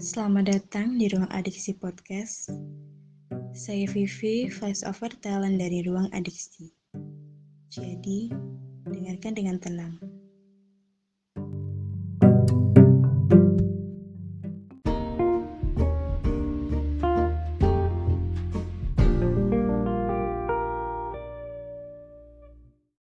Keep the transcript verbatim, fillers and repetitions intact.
Selamat datang di Ruang Adiksi Podcast. Saya Vivi, voice over talent dari Ruang Adiksi. Jadi, dengarkan dengan tenang.